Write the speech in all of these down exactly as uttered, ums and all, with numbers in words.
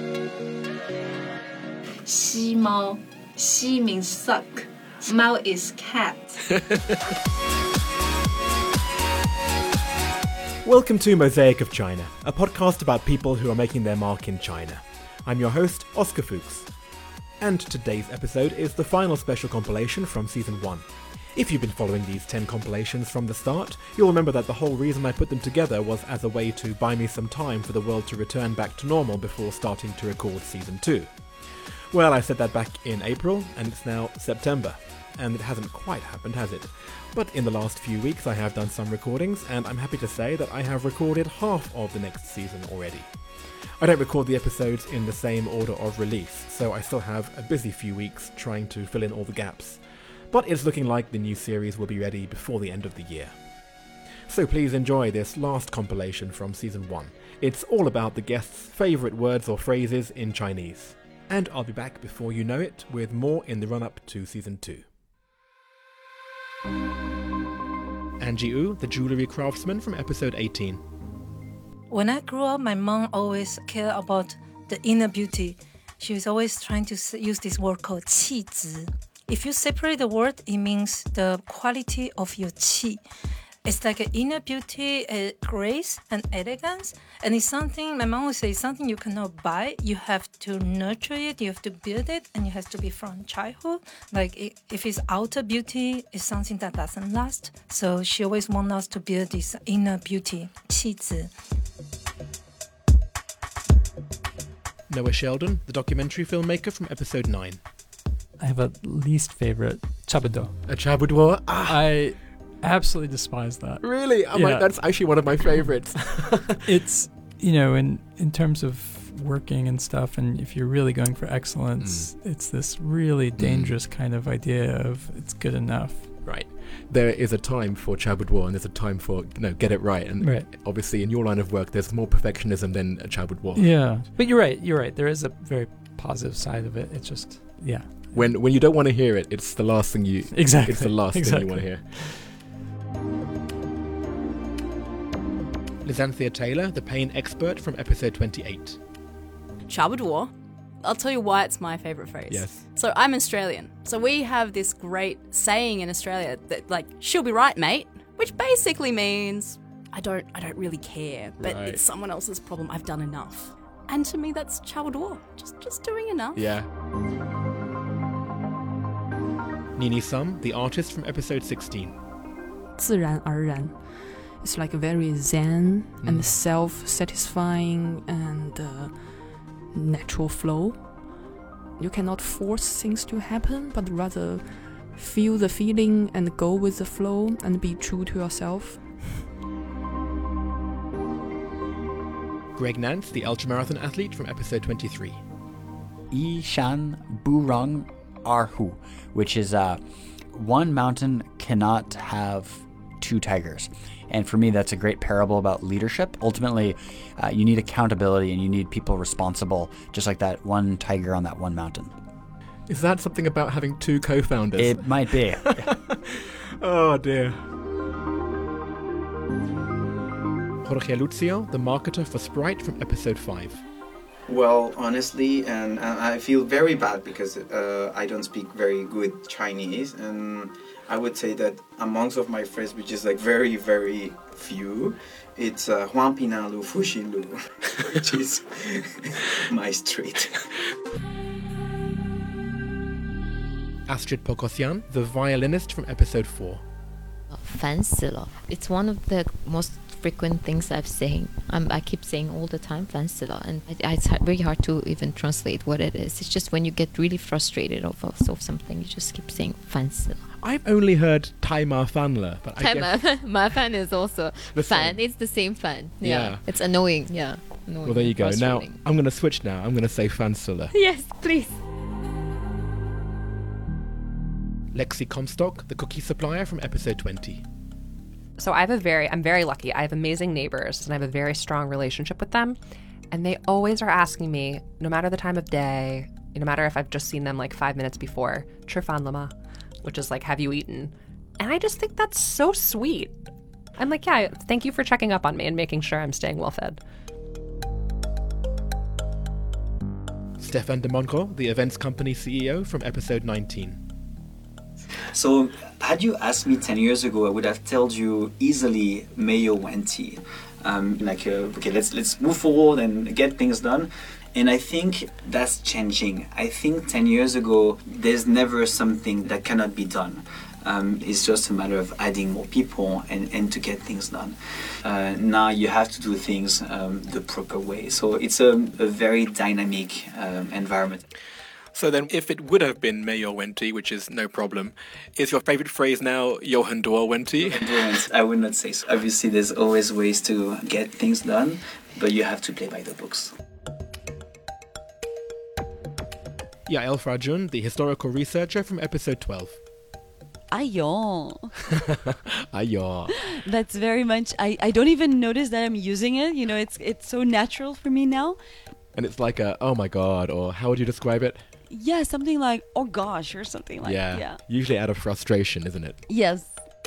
西猫, Xi means suck. Mao is cat. Welcome to Mosaic of China, a podcast about people who are making their mark in China. I'm your host, Oscar Fuchs. And today's episode is the final special compilation from Season one. If you've been following these ten compilations from the start, you'll remember that the whole reason I put them together was as a way to buy me some time for the world to return back to normal before starting to record Season two. Well, I said that back in April, and it's now September. And it hasn't quite happened, has it? But in the last few weeks I have done some recordings, and I'm happy to say that I have recorded half of the next season already. I don't record the episodes in the same order of release, so I still have a busy few weeks trying to fill in all the gaps. But it's looking like the new series will be ready before the end of the year. So please enjoy this last compilation from Season one. It's all about the guests' favourite words or phrases in Chinese. And I'll be back before you know it with more in the run-up to Season two. Angie Wu, the jewellery craftsman from episode eighteen. When I grew up, my mom always cared about the inner beauty. She was always trying to use this word called 气质. If you separate the word, it means the quality of your qi. It's like an inner beauty, a grace, and elegance. And it's something, my mom would say, something you cannot buy. You have to nurture it, you have to build it, and it has to be from childhood. Like if it's outer beauty, it's something that doesn't last. So she always wants us to build this inner beauty, 气质. Noah Sheldon, the documentary filmmaker from episode nine. I have a least favorite, chabudo. A chabudo? Ah. I absolutely despise that. Really? Oh yeah. my, that's actually one of my favorites. It's, you know, in, in terms of working and stuff, and if you're really going for excellence, mm. it's this really dangerous mm. kind of idea of it's good enough. Right. There is a time for chabudo and there's a time for, you know, get it right. And right. obviously in your line of work, there's more perfectionism than a chabudo. Yeah. But you're right. You're right. There is a very positive side of it. It's just, yeah. When when you don't want to hear it, it's the last thing you... Exactly. It's the last exactly. thing you want to hear. Lizanthia Taylor, the pain expert from episode twenty-eight. Chabudo. I'll tell you why it's my favourite phrase. Yes. So I'm Australian. So we have this great saying in Australia that, like, she'll be right, mate, which basically means I don't I don't really care, but right. it's someone else's problem. I've done enough. And to me, that's chabudo. Just, just doing enough. Yeah. Nini Sum, the artist from episode sixteen. 自然而然. It's like a very zen mm. and self-satisfying and uh, natural flow. You cannot force things to happen, but rather feel the feeling and go with the flow and be true to yourself. Greg Nance, the ultramarathon athlete from episode twenty-three. Yi Shan Burang Erhu, which is uh, one mountain cannot have two tigers. And for me, that's a great parable about leadership. Ultimately, uh, you need accountability and you need people responsible, just like that one tiger on that one mountain. Is that something about having two co-founders? It might be. Oh, dear. Jorge Lucio, the marketer for Sprite from episode five. Well, honestly, and, and I feel very bad because uh, I don't speak very good Chinese, and I would say that amongst of my friends, which is like very, very few, it's uh, Huang Pinan Lu Fuxin Lu, which is my street. Astrid Pokosian, the violinist from episode four. 烦死了. It's one of the most frequent things I've saying. I'm, I keep saying all the time, 烦死了, and I, it's very hard to even translate what it is. It's just when you get really frustrated over of something, you just keep saying 烦死了. I've only heard 太麻烦了, but I guess... 麻烦 is also 烦. It's the same 烦. Yeah. yeah. It's annoying. Yeah. Annoying. Well, there you go. Now, I'm going to switch now. I'm going to say 烦死了. Yes, please. Lexi Comstock, the cookie supplier from episode twenty. So I have a very, I'm very lucky. I have amazing neighbors and I have a very strong relationship with them. And they always are asking me, no matter the time of day, no matter if I've just seen them like five minutes before, 吃饭了吗? Which is like, have you eaten? And I just think that's so sweet. I'm like, yeah, thank you for checking up on me and making sure I'm staying well fed. Stéphane de Monco, the events company C E O, from episode nineteen. So, had you asked me ten years ago, I would have told you easily Mayo Wenti. Um, like, uh, okay, let's let's move forward and get things done. And I think that's changing. I think ten years ago, there's never something that cannot be done. Um, it's just a matter of adding more people and, and to get things done. Uh, now you have to do things um, the proper way. So it's a, a very dynamic um, environment. So then, if it would have been Mayo Wenti, which is no problem, is your favourite phrase now Johan Doer Wenti? I would not say so. Obviously, there's always ways to get things done, but you have to play by the books. Yael Frajun, the historical researcher from episode twelve. Ayo. Ayo. That's very much, I, I don't even notice that I'm using it. You know, it's it's so natural for me now. And it's like a, oh my god, or how would you describe it? Yeah, something like, oh gosh, or something like yeah. that. Yeah. Usually out of frustration, isn't it? Yes.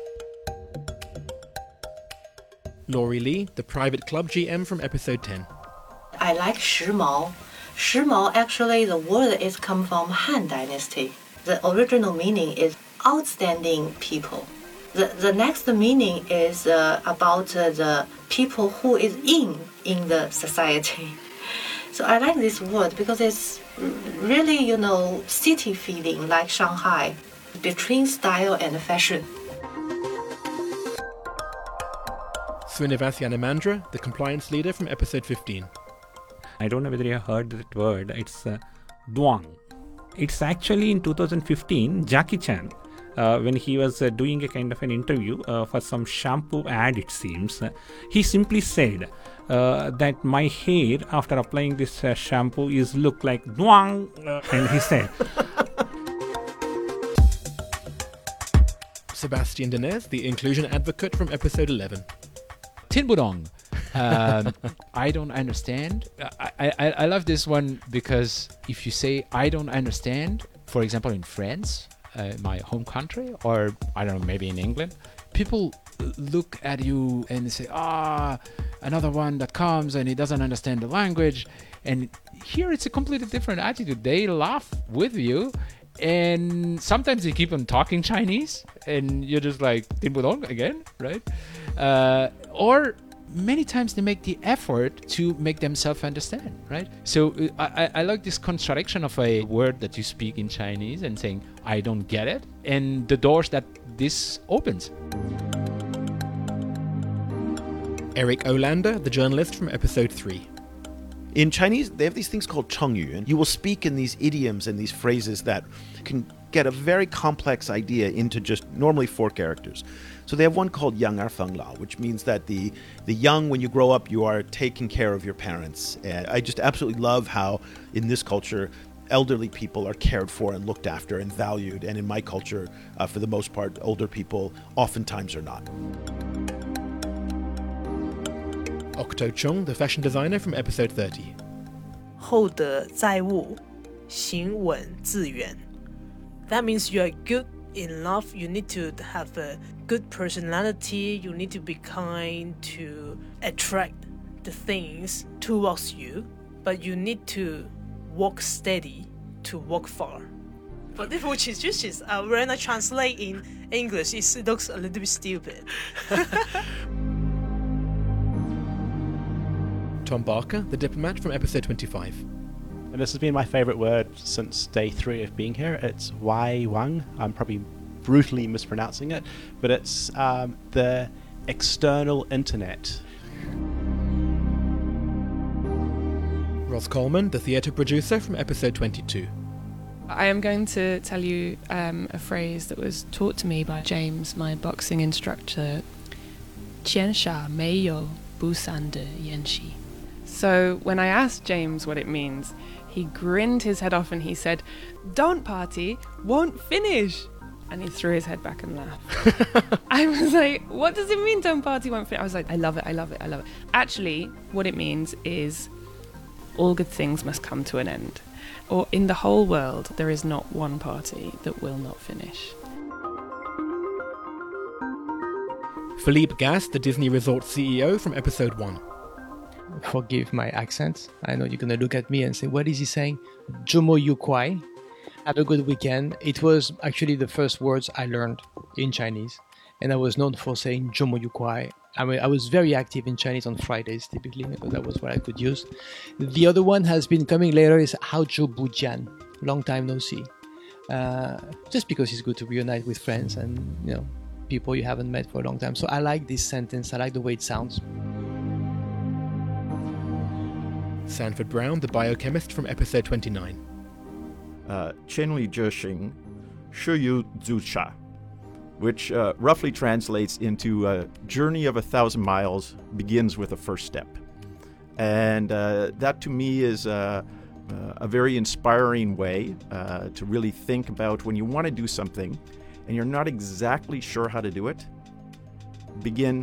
Laurie Lee, the private club G M from episode ten. I like 时髦. 时髦, actually, the word is come from Han Dynasty. The original meaning is outstanding people. The, the next meaning is uh, about uh, the people who is in in the society. So I like this word because it's really, you know, city feeling like Shanghai, between style and fashion. Srinivas Yanamandra, the compliance leader from episode fifteen. I don't know whether you have heard that word. It's uh, duang. It's actually in two thousand fifteen, Jackie Chan, uh, when he was uh, doing a kind of an interview uh, for some shampoo ad, it seems, uh, he simply said uh, that my hair after applying this uh, shampoo is look like duang, uh, and he said. Sebastian Denez, the inclusion advocate from episode eleven. Tin Budong. um, I don't understand. I, I, I love this one because if you say I don't understand, for example in France, uh, my home country, or I don't know, maybe in England, people look at you and say, ah, another one that comes and he doesn't understand the language. And here it's a completely different attitude. They laugh with you. And sometimes they keep on talking Chinese and you're just like, Tin Budong again, right? Uh, or many times they make the effort to make themselves understand, right? So uh, I, I like this contradiction of a word that you speak in Chinese and saying, I don't get it, and the doors that this opens. Eric Olander, the journalist from episode three. In Chinese, they have these things called chengyu, and you will speak in these idioms and these phrases that can get a very complex idea into just normally four characters. So they have one called yang er feng lao, which means that the, the young, when you grow up, you are taking care of your parents. And I just absolutely love how, in this culture, elderly people are cared for and looked after and valued. And in my culture, uh, for the most part, older people oftentimes are not. Octo Chung, the fashion designer from episode thirty. 厚德载物，行稳致远. That means you are good enough. You need to have a good personality. You need to be kind to attract the things towards you. But you need to walk steady to walk far. But if which is just is, uh, when I translate in English, it looks a little bit stupid. Tom Barker, the diplomat from episode twenty-five. And this has been my favourite word since day three of being here. It's Wai Wang. I'm probably brutally mispronouncing it, but it's um, the external internet. Ross Coleman, the theatre producer from episode twenty-two. I am going to tell you um, a phrase that was taught to me by James, my boxing instructor. 剑杀没有不散的宴席. So when I asked James what it means, he grinned his head off and he said, "Don't party, won't finish." And he threw his head back and laughed. I was like, what does it mean, don't party, won't finish? I was like, I love it, I love it, I love it. Actually, what it means is all good things must come to an end. Or in the whole world, there is not one party that will not finish. Philippe Gas, the Disney Resort C E O from episode one. forgive my accent. I know you're gonna look at me and say, what is he saying? Zhomo yu kuai. Have a good weekend. It was actually the first words I learned in Chinese, and I was known for saying zhomo yu kuai. I mean, I was very active in Chinese on Fridays typically, because that was what I could use. The other one has been coming later is Hao Zhou Bu Jian. Long time no see. Uh, just because it's good to reunite with friends and, you know, people you haven't met for a long time. So I like this sentence. I like the way it sounds. Sanford Brown, the biochemist from episode twenty-nine. Uh, Qianli Zhexing, Shiyu Zusha, which uh, roughly translates into a journey of a thousand miles begins with a first step. And uh, that to me is uh, uh, a very inspiring way uh, to really think about when you want to do something and you're not exactly sure how to do it, begin.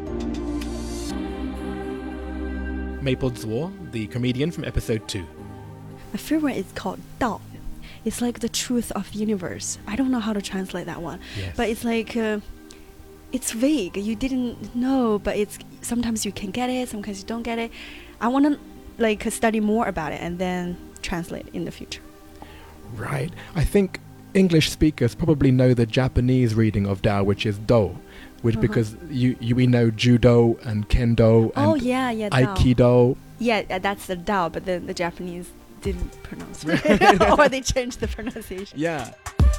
Maple Zhuo, the comedian from episode two. My favorite is called Dao. It's like the truth of the universe. I don't know how to translate that one. Yes. But it's like, uh, it's vague. You didn't know, but it's sometimes you can get it, sometimes you don't get it. I want to like study more about it and then translate in the future. Right. I think English speakers probably know the Japanese reading of Dao, which is Do, which Uh-huh. because you, you we know Judo and Kendo and Oh, yeah, yeah, Dao. Aikido. Yeah, uh, that's the Dao, but the, the Japanese didn't pronounce it. Or they changed the pronunciation. Yeah.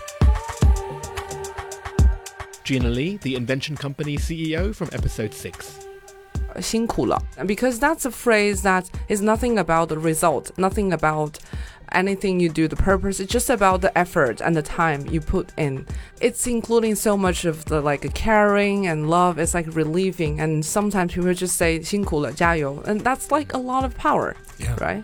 Gina Lee, the Invention Company C E O from episode six. 辛苦了 because that's a phrase that is nothing about the result, nothing about anything you do, the purpose. It's just about the effort and the time you put in. It's including so much of the like caring and love. It's like relieving, and sometimes people just say 辛苦了加油, and that's like a lot of power. Yeah. Right?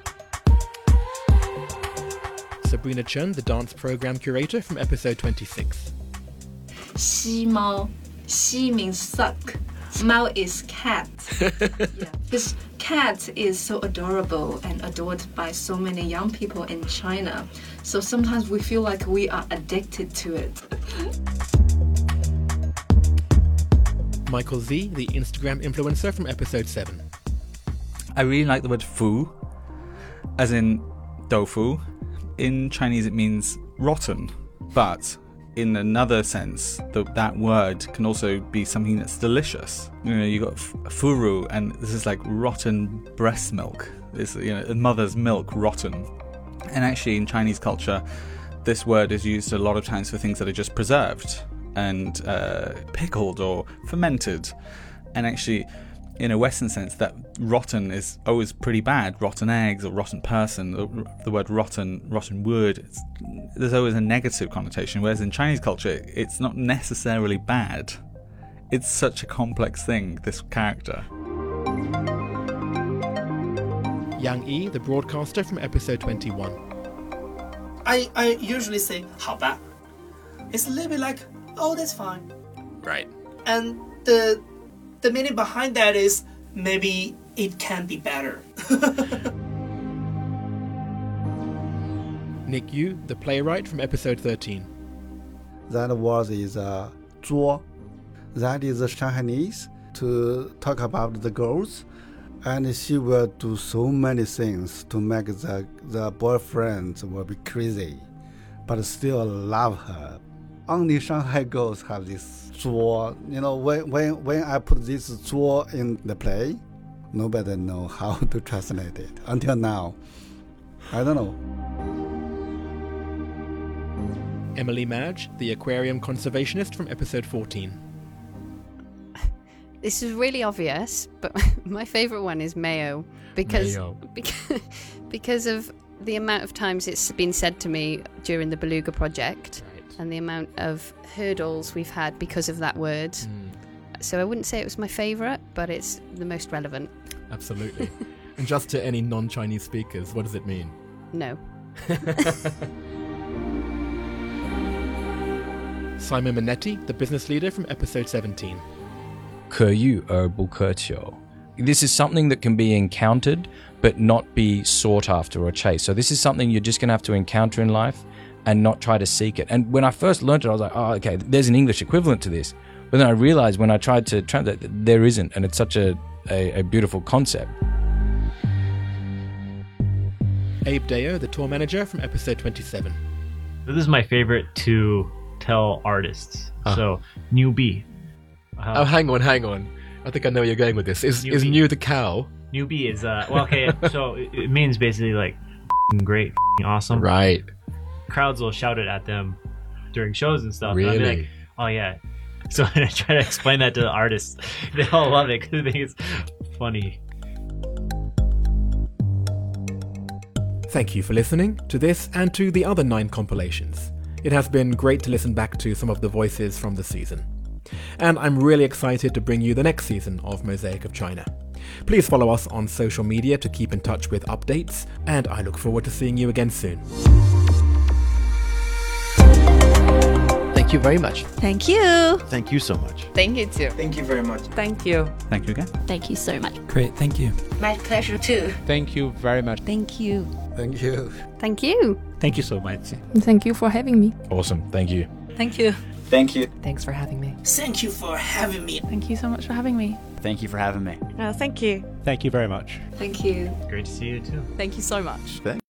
Sabrina Chen, the dance program curator from episode twenty-six. 吸猫, xi means suck. Mao is cat. Yeah. This cat is so adorable and adored by so many young people in China. So sometimes we feel like we are addicted to it. Michael Z, the Instagram influencer from episode seven. I really like the word fu, as in tofu. In Chinese it means rotten, but in another sense, the, that word can also be something that's delicious. You know, you got f- furu, and this is like rotten breast milk. It's, you know, a mother's milk rotten. And actually, in Chinese culture, this word is used a lot of times for things that are just preserved and uh, pickled or fermented. And actually, in a Western sense, that rotten is always pretty bad. Rotten eggs or rotten person. The, the word rotten, rotten wood, it's, there's always a negative connotation. Whereas in Chinese culture, it's not necessarily bad. It's such a complex thing, this character. Yang Yi, the broadcaster from episode twenty-one. I, I usually say 好吧. It's a little bit like, oh, that's fine. Right. And the the meaning behind that is maybe it can be better. Nick Yu, the playwright from episode thirteen. That word is uh, 作. That is Chinese to talk about the girls. And she will do so many things to make the, the boyfriend will be crazy, but still love her. Only Shanghai girls have this 作. You know, when, when, when I put this 作 in the play, nobody know how to translate it until now. I don't know. Emily Madge, the aquarium conservationist from episode fourteen. This is really obvious, but my favourite one is Mayo because, Mayo. because because of the amount of times it's been said to me during the Beluga project, right, and the amount of hurdles we've had because of that word. Mm. So I wouldn't say it was my favourite, but it's the most relevant. Absolutely. And just to any non-Chinese speakers, what does it mean? No. Simon Minetti, the business leader from episode seventeen. 可遇而不可求. This is something that can be encountered but not be sought after or chased. So this is something you're just going to have to encounter in life and not try to seek it. And when I first learned it, I was like, oh, okay, there's an English equivalent to this. But then I realized when I tried to translate that there isn't, and it's such a, a, a beautiful concept. Abe Deo, the tour manager from episode twenty-seven. This is my favorite to tell artists. Ah. So, new bee. Uh, oh, hang on, hang on. I think I know where you're going with this. Is is new the cow? New bee is, uh, well, okay, so it, it means basically like f***ing great, f***ing awesome. Right. Crowds will shout it at them during shows and stuff. And I'll be Really? like, oh yeah. So when I try to explain that to the artists, they all love it because they think it's funny. Thank you for listening to this and to the other nine compilations. It has been great to listen back to some of the voices from the season. And I'm really excited to bring you the next season of Mosaic of China. Please follow us on social media to keep in touch with updates, and I look forward to seeing you again soon. Thank you very much. Thank you. Thank you so much. Thank you too. Thank you very much. Thank you. Thank you again. Thank you so much. Great, thank you. My pleasure too. Thank you very much. Thank you. Thank you. Thank you. Thank you so much. Thank you for having me. Awesome. Thank you. Thank you. Thank you. Thanks for having me. Thank you for having me. Thank you so much for having me. Thank you for having me. Oh, thank you. Thank you very much. Thank you. Great to see you too. Thank you so much. Thank